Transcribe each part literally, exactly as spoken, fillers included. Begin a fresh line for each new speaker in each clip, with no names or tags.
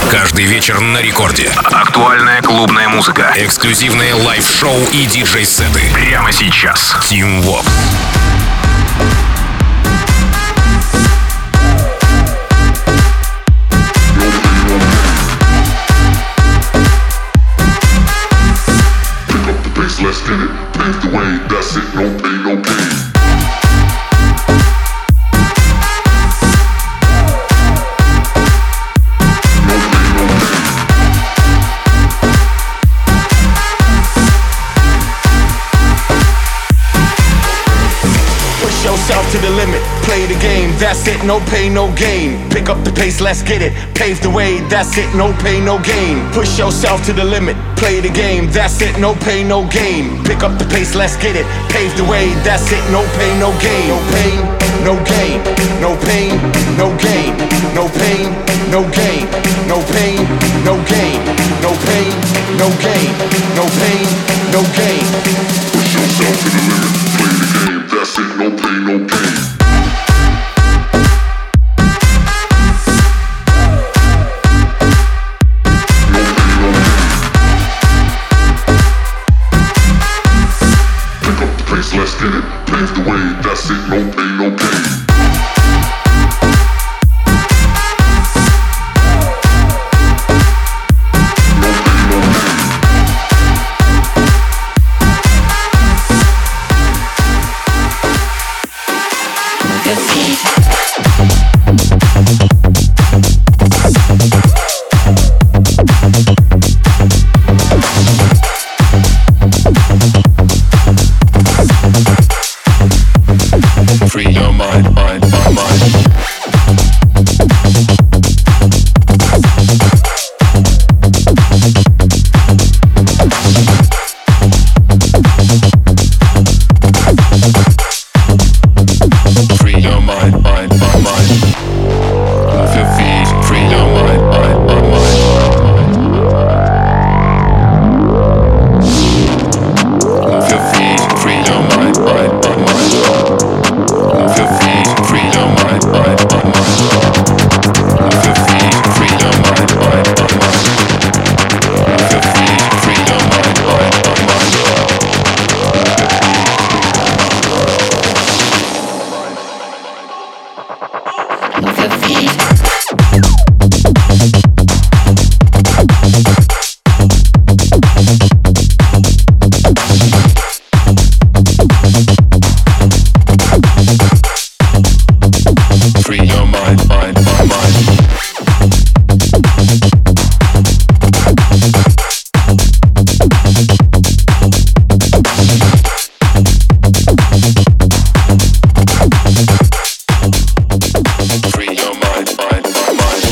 Каждый вечер на рекорде. Актуальная клубная музыка. Эксклюзивные лайв-шоу и диджей-сеты. Прямо сейчас. Team Vox.
Let's get it, pave the way, that's it, no pain, no gain.
Yourself to the limit, play the game, that's it, no pain, no gain. Pick up the pace, let's get it, pave the way, that's it, no pain, no gain. Push yourself to the limit, play the game, that's it, no pain, no gain. Pick up the pace, let's get it, pave the way, that's it, no pain, no gain. No pain, no gain, no pain, no gain, no pain, no gain, no pain, no gain, no pain, no gain, no pain, no gain.
Push yourself to the limit, play the game, that's it, no pain, no gain. Let's get it, pave the way, that's it, no pain, no gain.
Free your mind, mind, my mind. Free your mind, mind, my mind. Move your feet, free your mind, mind, my mind. Move your feet, free your mind, mind, my mind. Move your feet, free your mind, mind, my mind. Move your feet, free your mind, mind, my mind. Move your feet, free your mind, mind, my mind. Move your feet. Free your mind, mind, my mind. Free your mind, mind, my mind.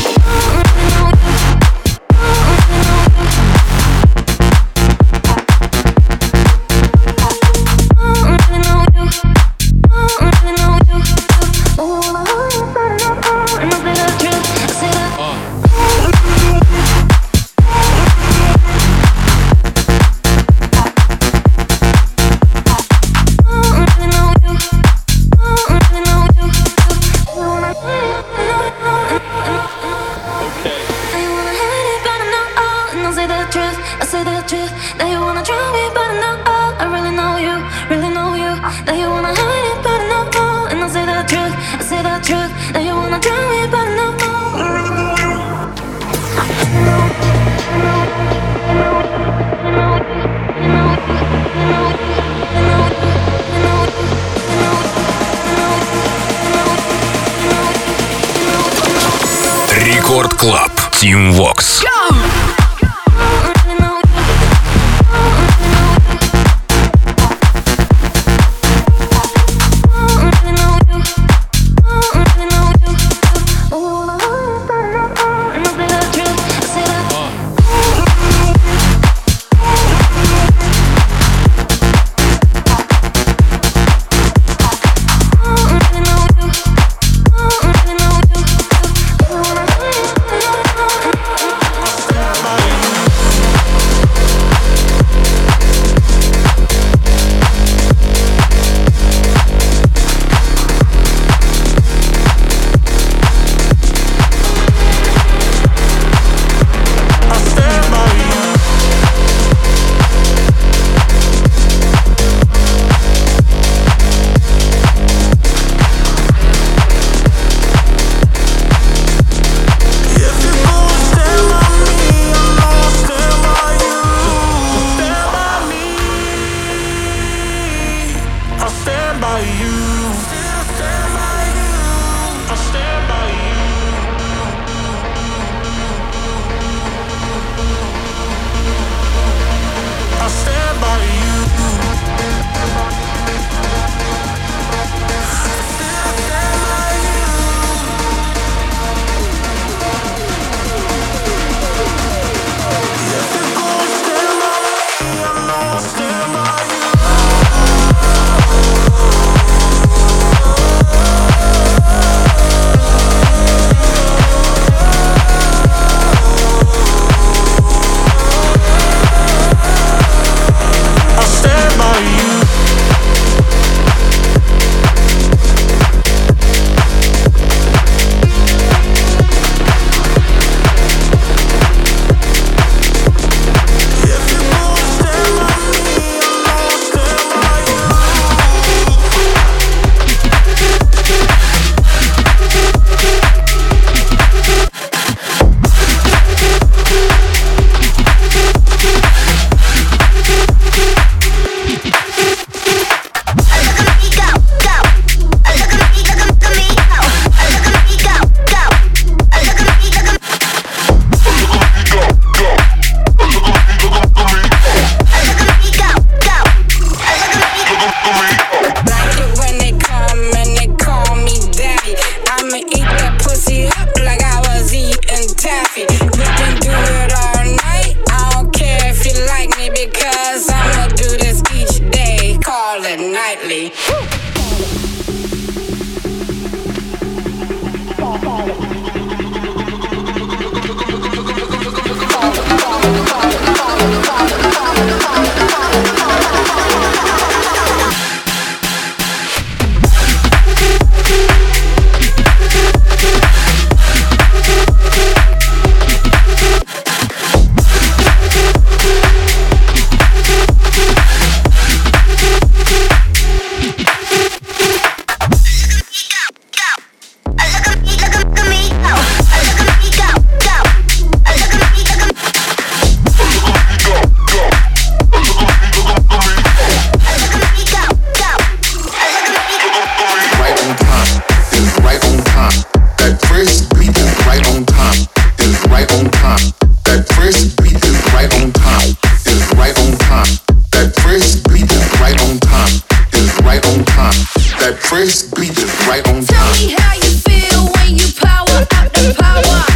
Рекорд Клаб. Team Vox.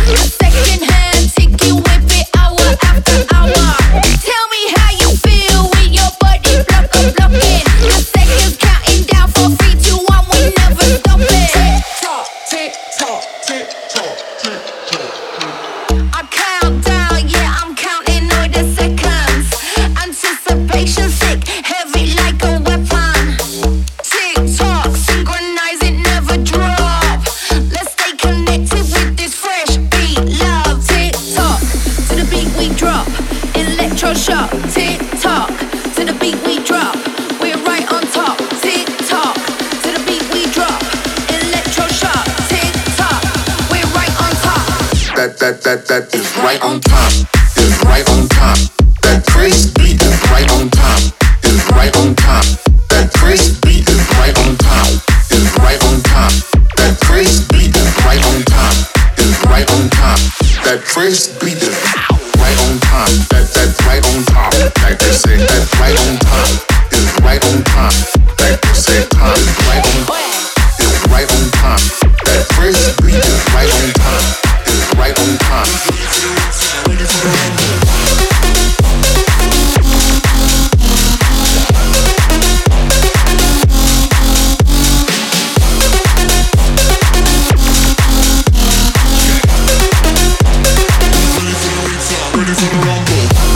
That that that is right on time, is right on time. That crazy beat is right on time, is right on time. That crazy beat is right on time, is right on time. That crazy beat is right on time, is right on time. That crazy beat is right on time. That that right on time. Like they say, that right on time is right on time. Like they say, time is right on time, is right on time. That crazy beat is right on time. Right on time. Ready for the rumble. Ready for the rumble.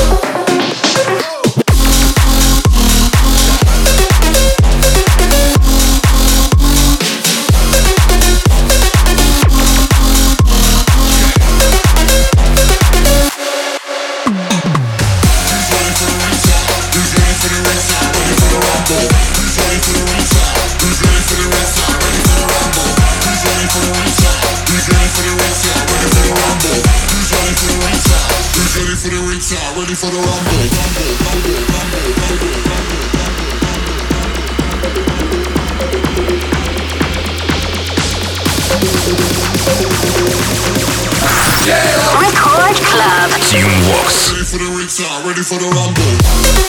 Ready for the rumble, rumble, rumble, rumble, rumble, rumble. Yeah.
Record Club. Teamworks.
Ready for the restart, ready for the rumble.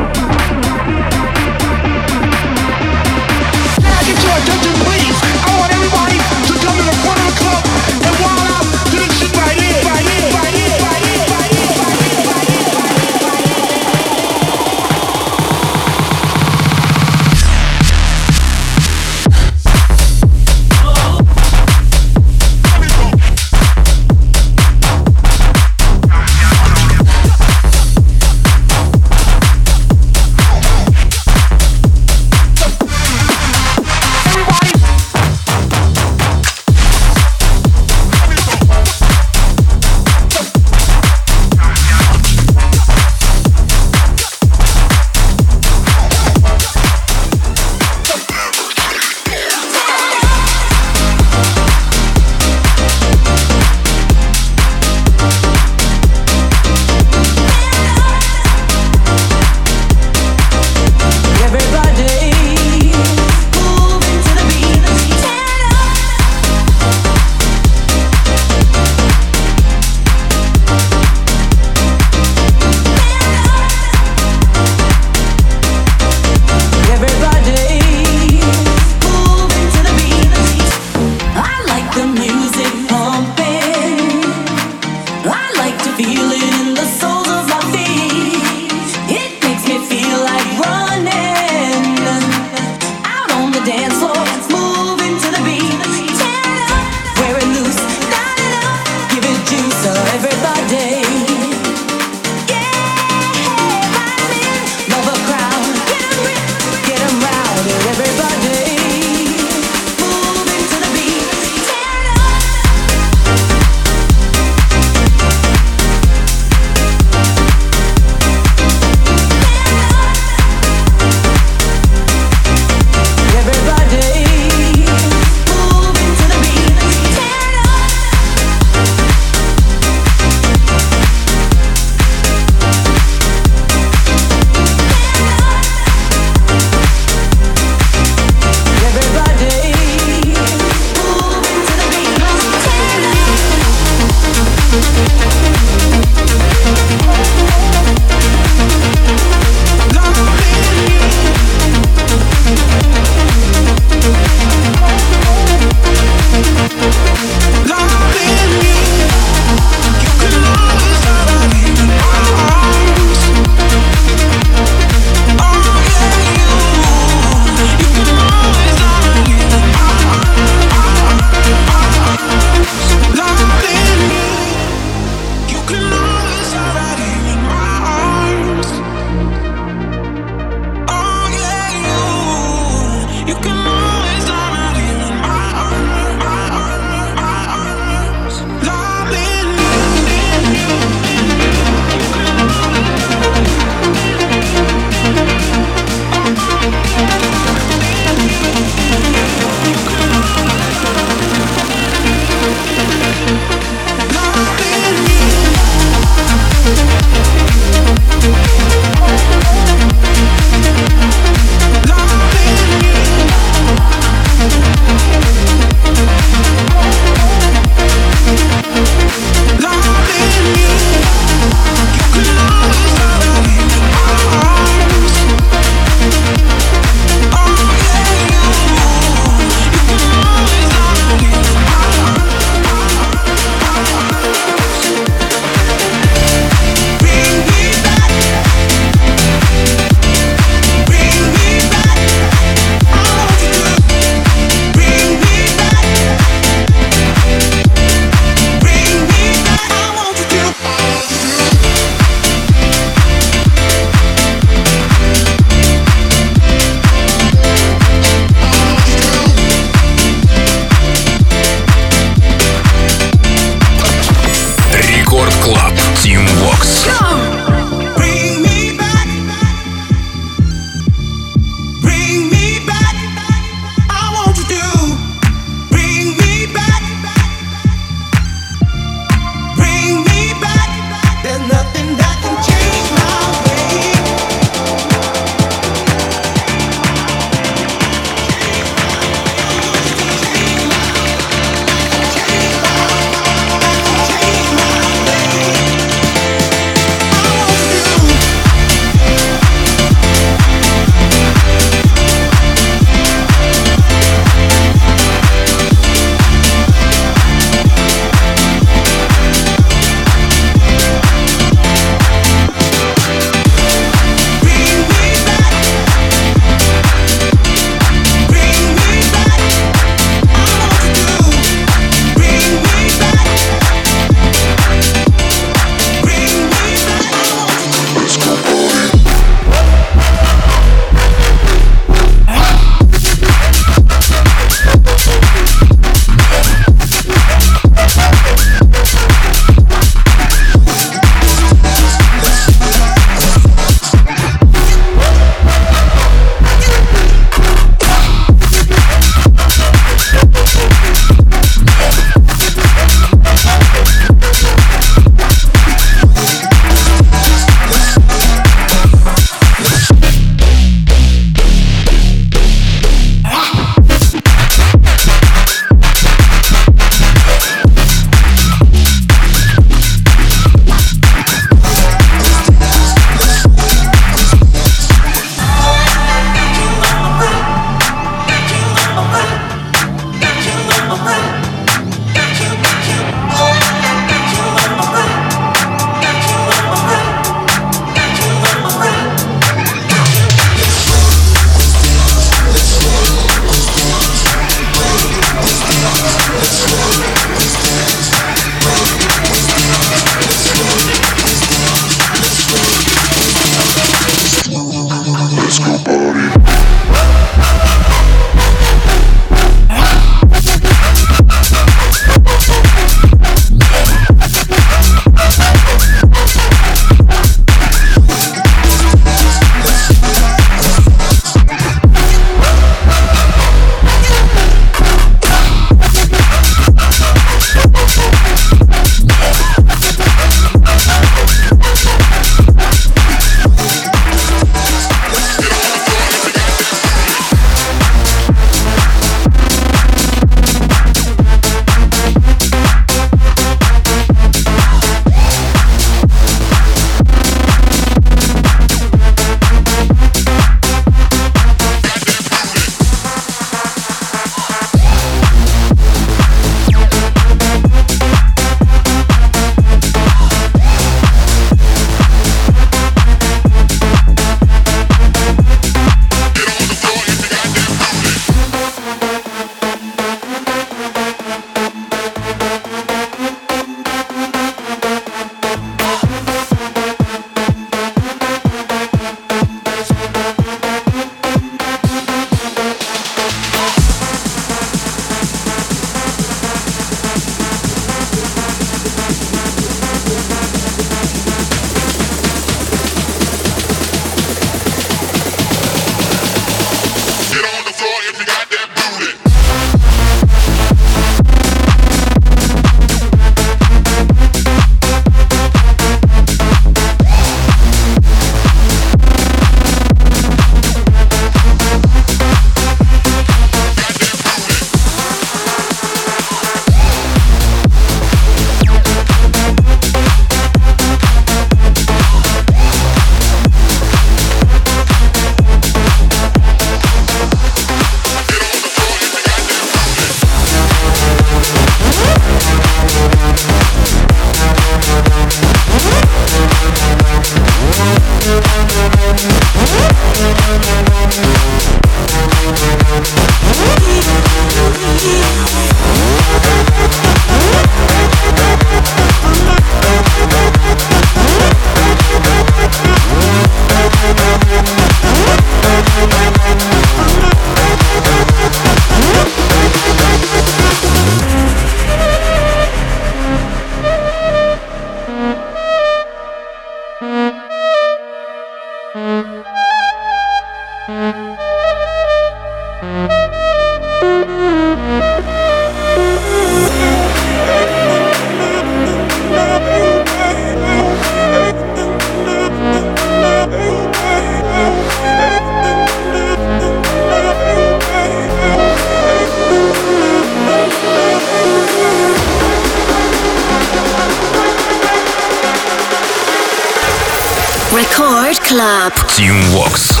Record Club.
Team Vox.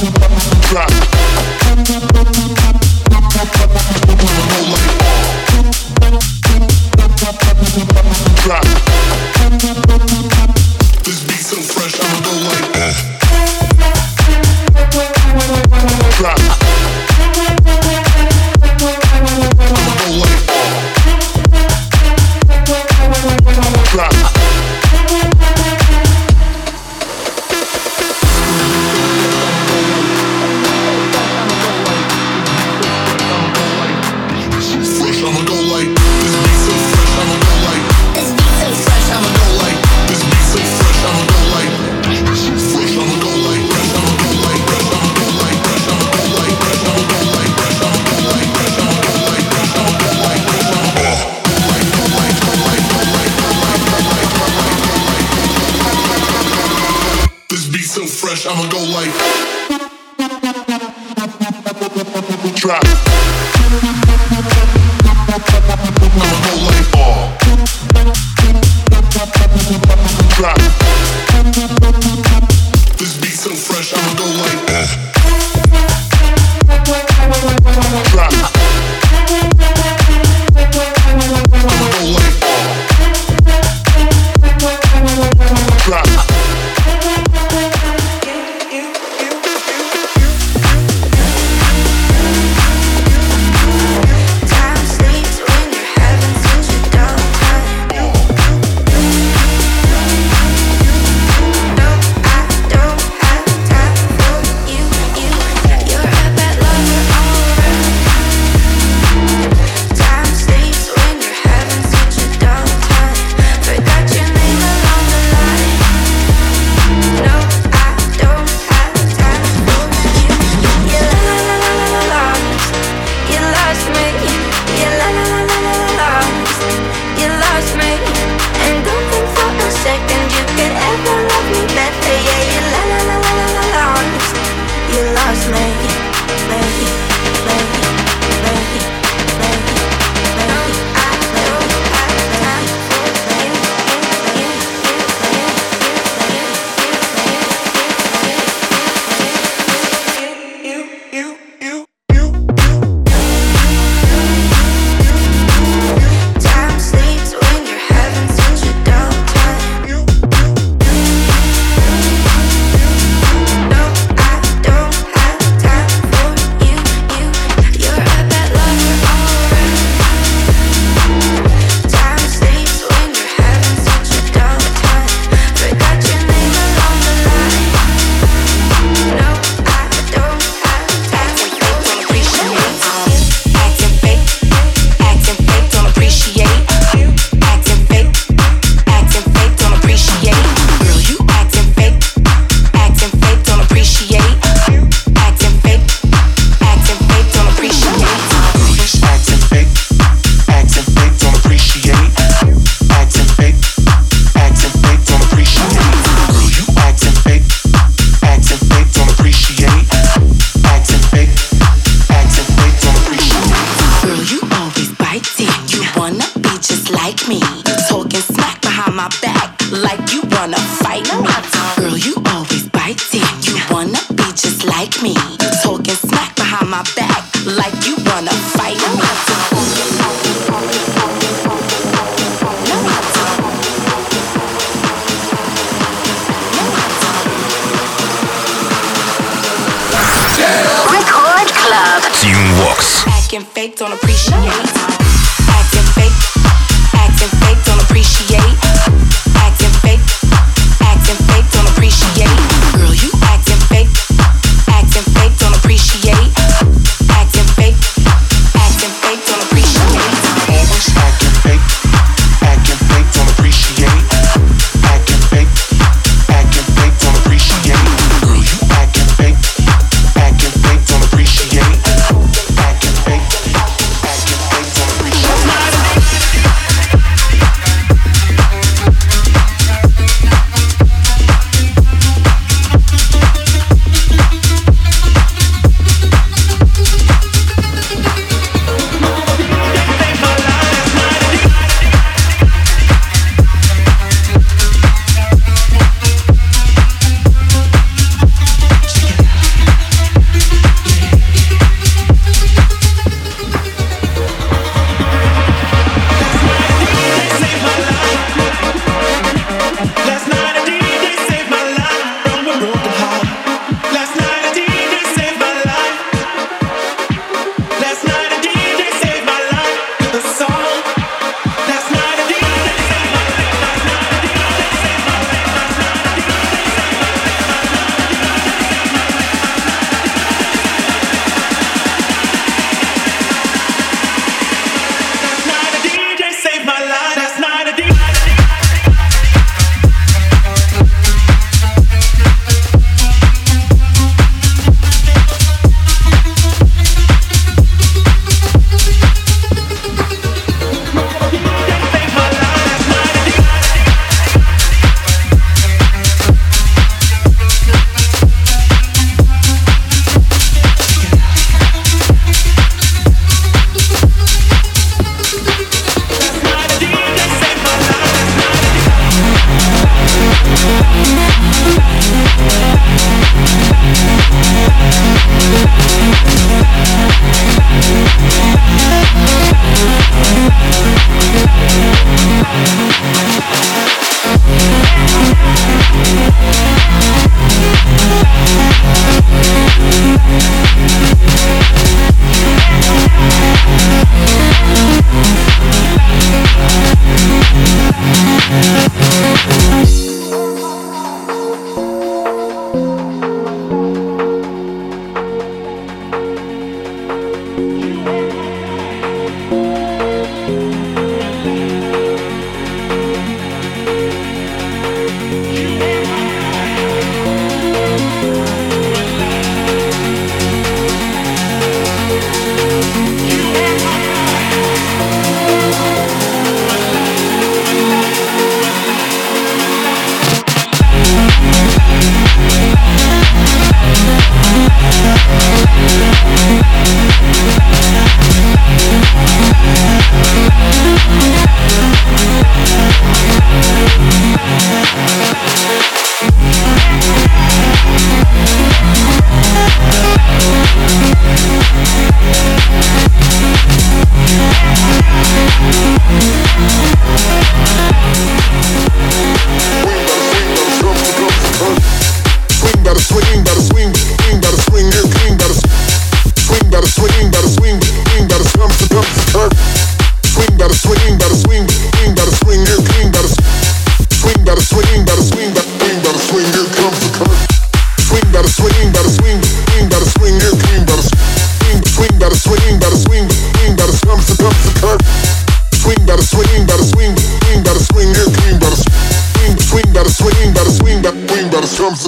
I'ma go like drop. I'ma go like ball. Drop. This beat so fresh, I'ma go like drop. I'ma go like drop.
Fake, don't appreciate. Acting fake, acting fake, don't appreciate. Acting fake, acting fake, don't appreciate. Girl, you acting fake, acting fake, don't appreciate. Acting fake, acting fake, don't appreciate.
Always acting fake, acting fake, don't appreciate. Acting fake, acting fake, don't appreciate. Girl, you acting fake, acting fake, don't appreciate. Acting fake.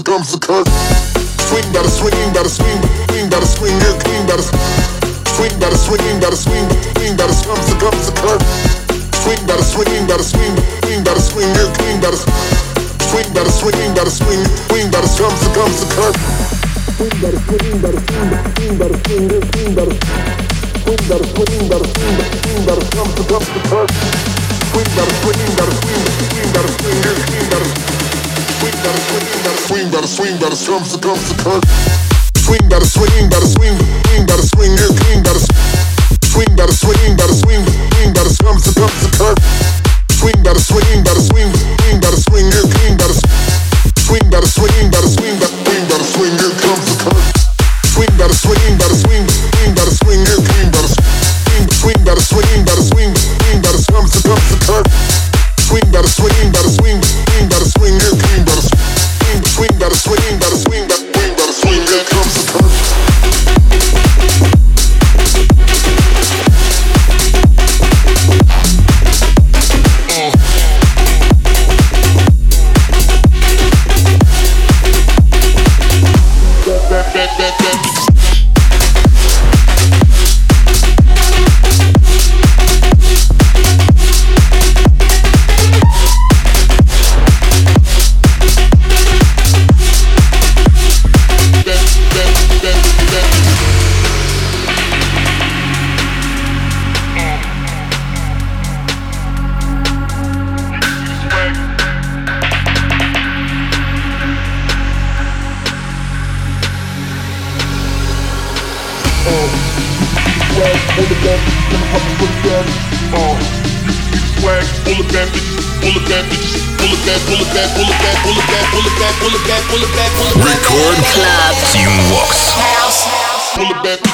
comes the curve. Swing, better swing, better swing, swing, better swing, yeah, clean, better swing, better swing, better swing, swing, better comes the comes the curve. Swing, better swing, better swing, swing, better swing, yeah, clean, better swing, better swing, better swing, swing, better comes the comes the curve. Swing, better swing, better swing, swing, better swing, yeah, clean, better swing, better swing, better swing, swing, better comes the comes the curve. Swing, better swing, better swing, swing, better swing, yeah, clean, better swing, better swing, better swing, better swing, better comes the comes the curve. Swing, better swing, better swing, swing, better swing, yeah, clean, better swing, better swing, better swing, swing, better comes the comes the curve. Swing, better swing, better swing, swing, better swing, yeah, clean, better swing, better swing, better swing, better swing, better swing, yeah, comes the curve. Swing, better swing, better swing, swing, better swing, yeah, clean, better swing, better swing, better swing, swing, better comes the comes the curve. Swing, better swing, better swing, swing, better swing, yeah, clean, better swing, swing, better swing, better swing, better swing, better swing, yeah, comes the curve.
Record Club Team Vox.
Pull it back.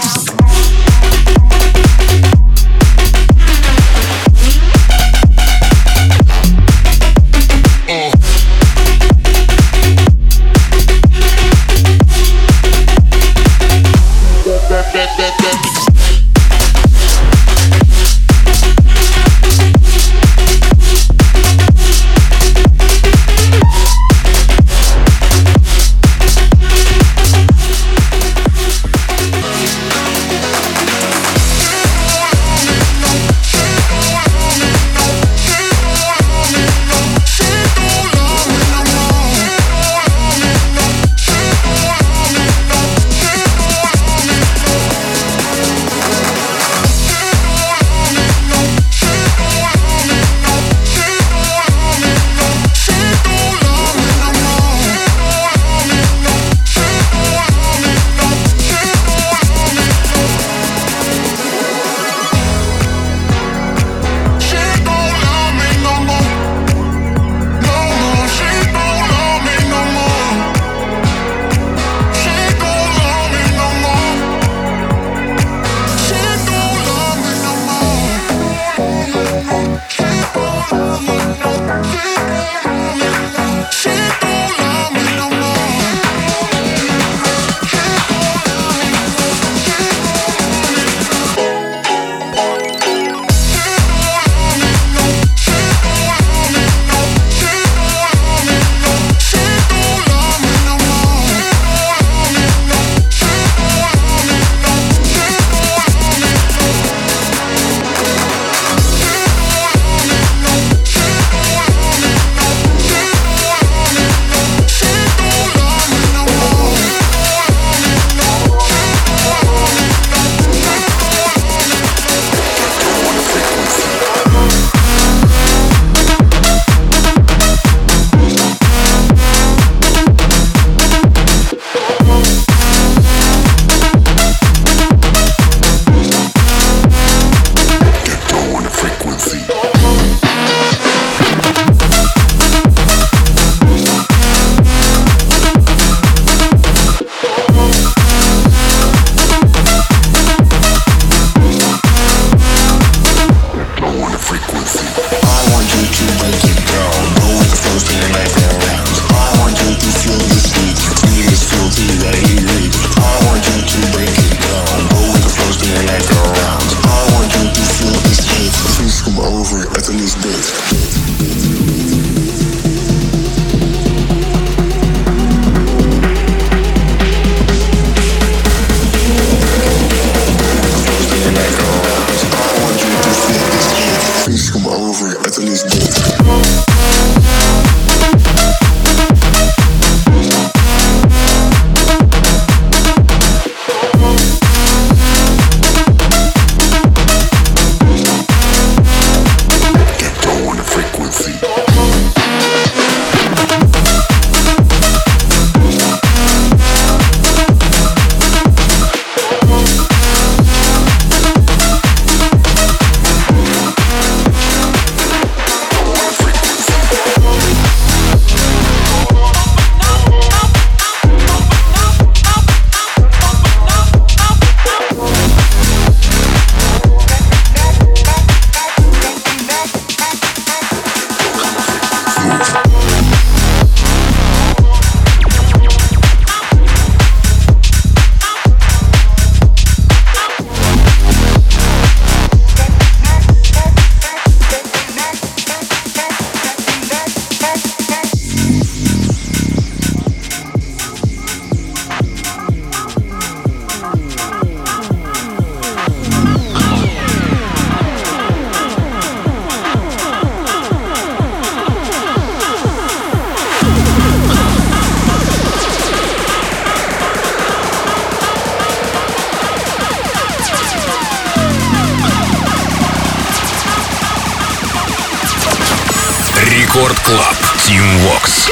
Рекорд Клаб. Team Vox.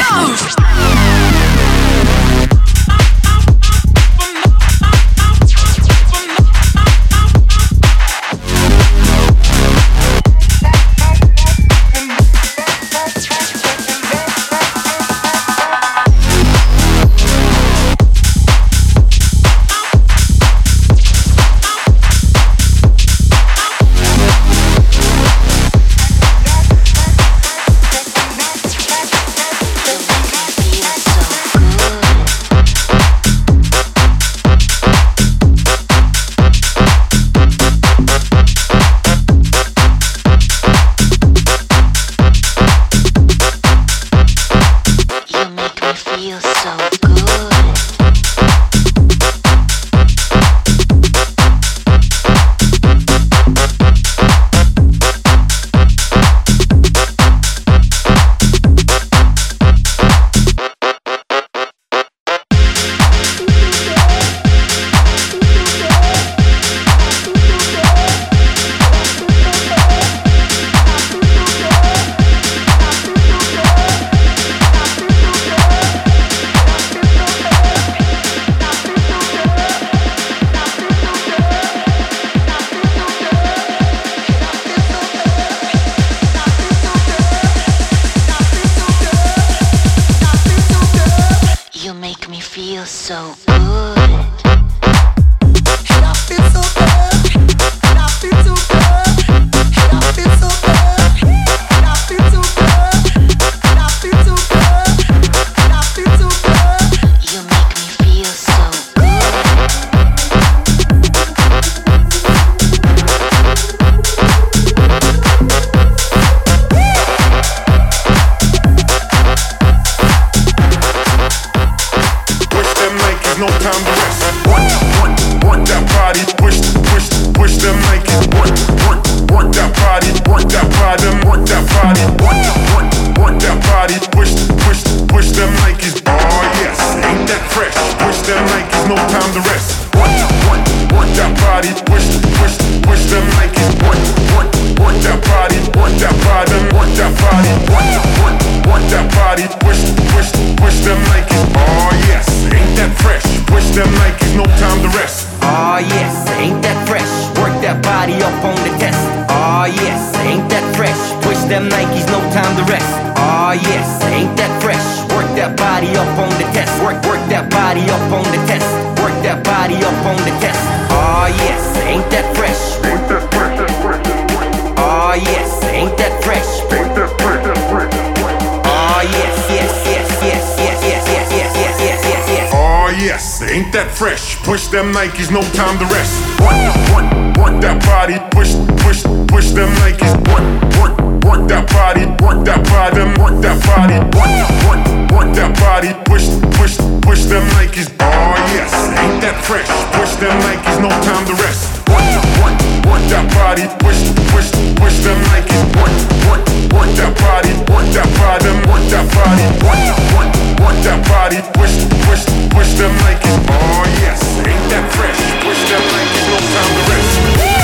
Push them Nikes, no time to rest. Work, work, work that body. Push, push, push them Nikes. Work, work, work that body. Work that body. Work that body. Work, work, work that body. Push, push, push them Nikes. Oh yes, ain't that fresh? Push them Nikes, no time to rest. Work, work, work that body. Push, push, push them Nikes. Work, work, work that body. Work that body. Work that body. Work, work, work that body. Push, push, push them Nikes. Oh yes, ain't that fresh? Push them Nikes, no time to rest.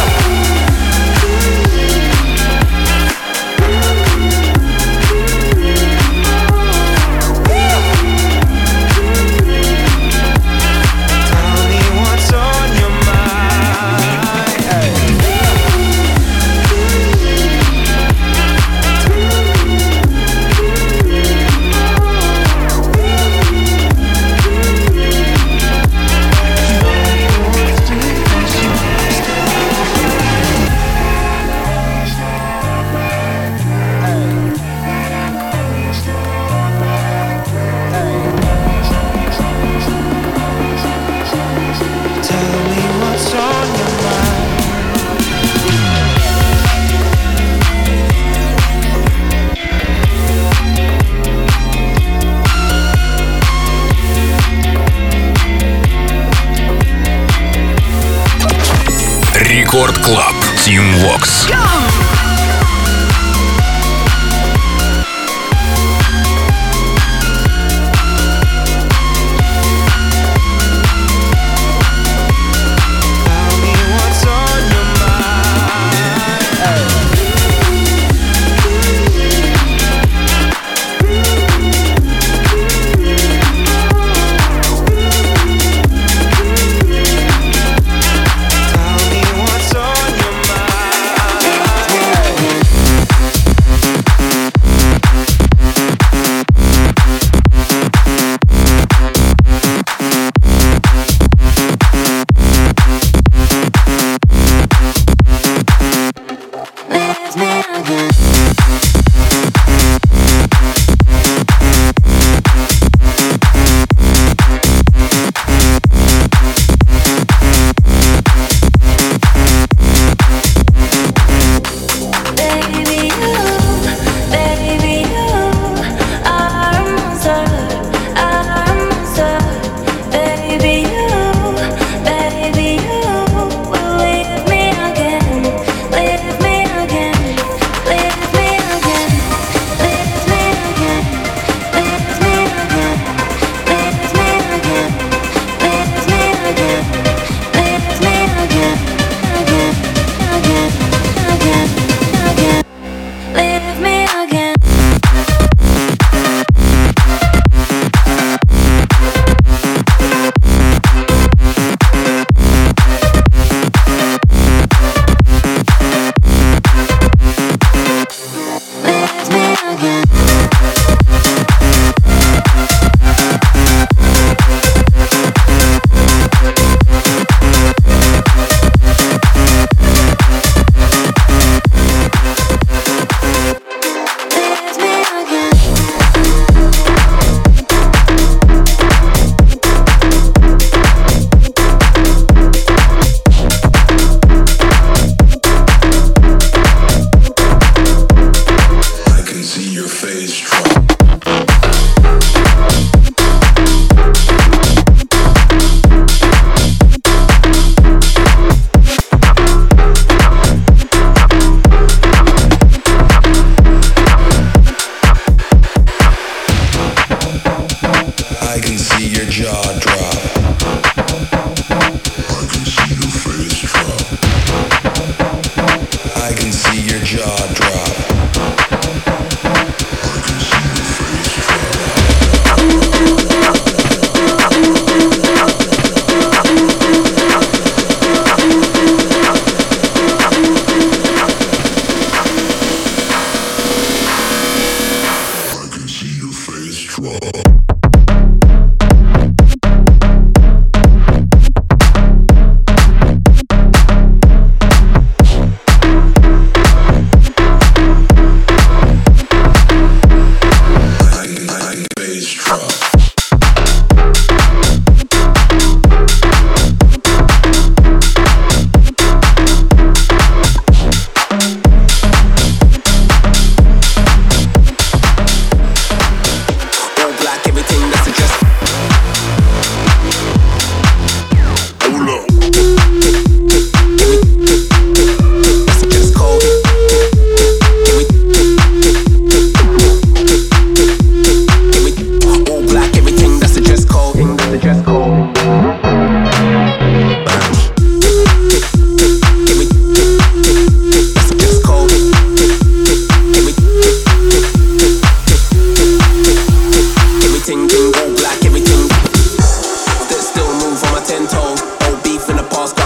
Рекорд Клаб. Team Vox.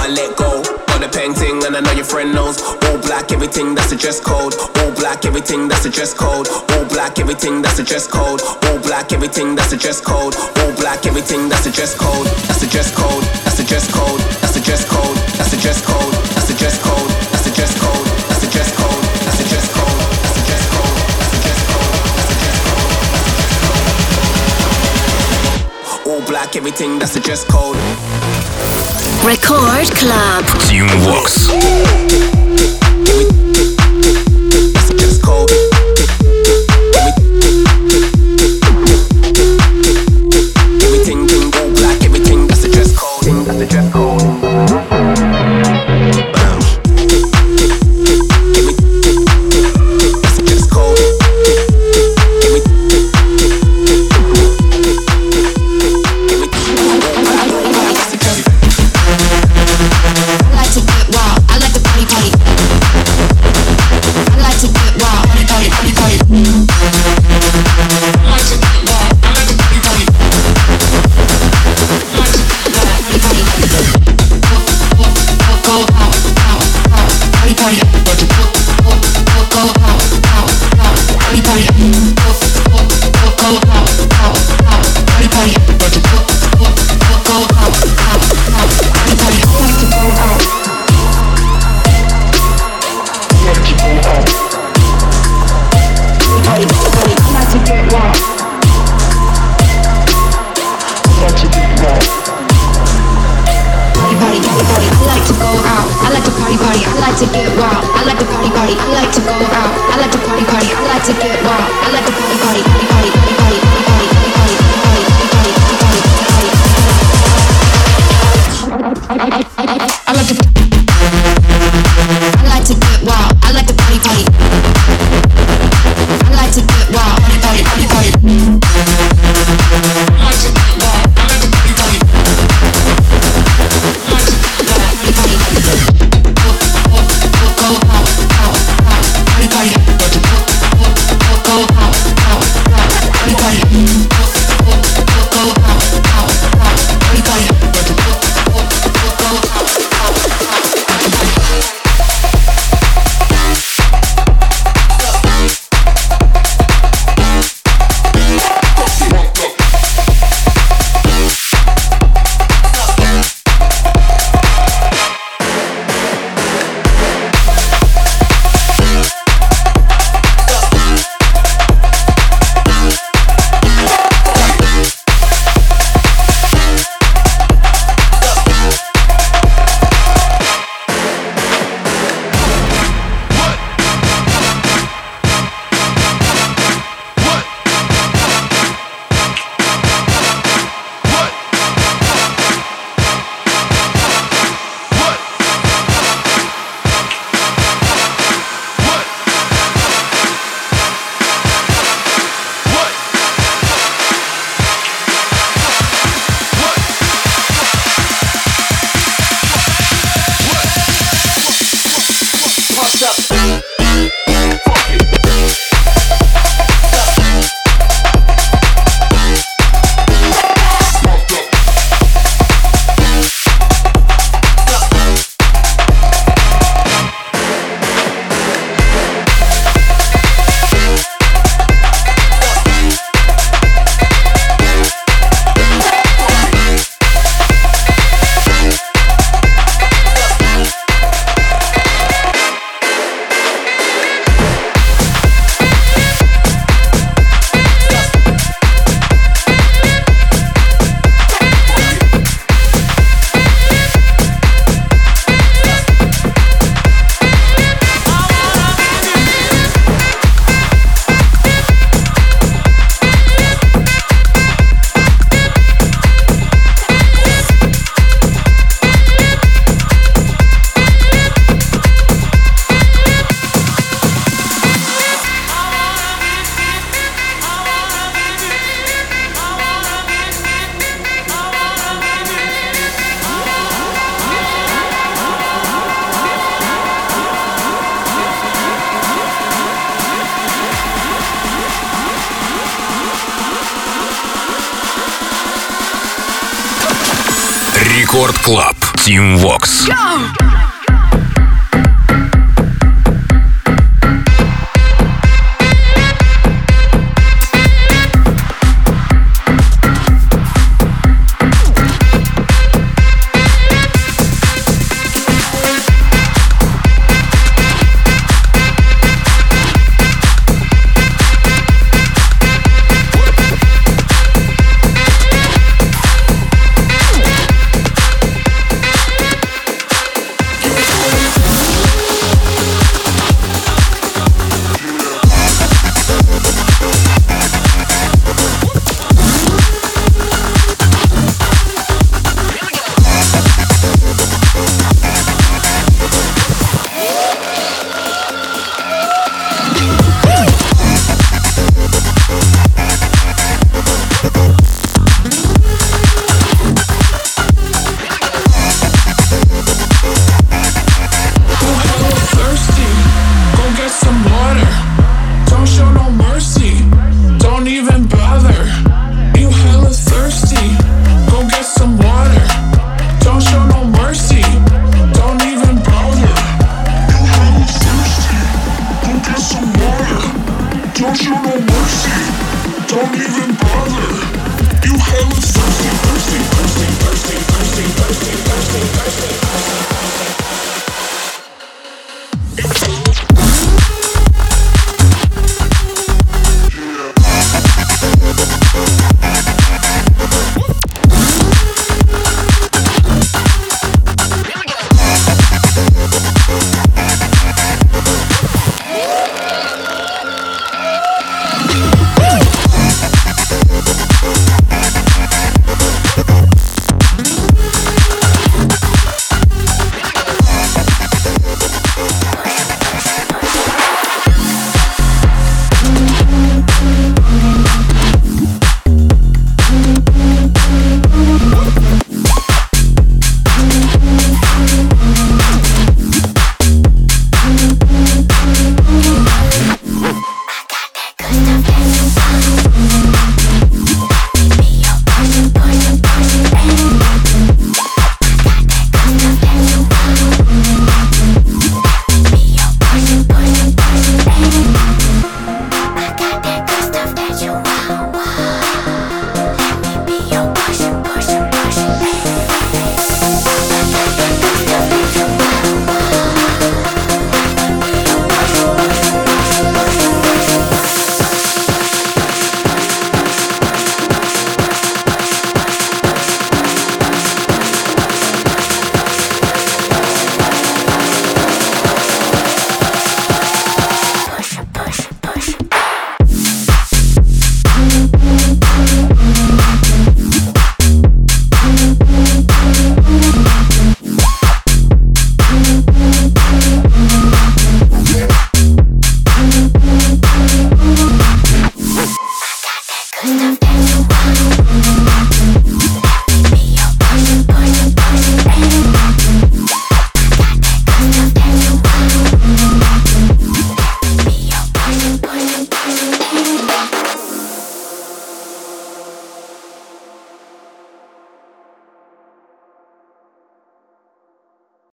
can't let go. Got the painting and I know your friend knows. All black, everything, that's the dress code. All black, everything, that's the dress code. All black, everything, that's the dress code. All black, everything, that's the dress code. All black, everything, that's the dress code. That's the dress code. That's the dress code. That's the dress code. That's the dress code. That's the dress code. That's the dress code. That's the dress code. That's the dress code. That's the dress code. That's the dress code. That's the dress code. All black, everything, that's the dress code.
Record Club.
Team Vox.
That's the dress code. Everything, all black, everything, that's the dress code. That's the dress code.
Рекорд Клаб. Team Vox.
Go!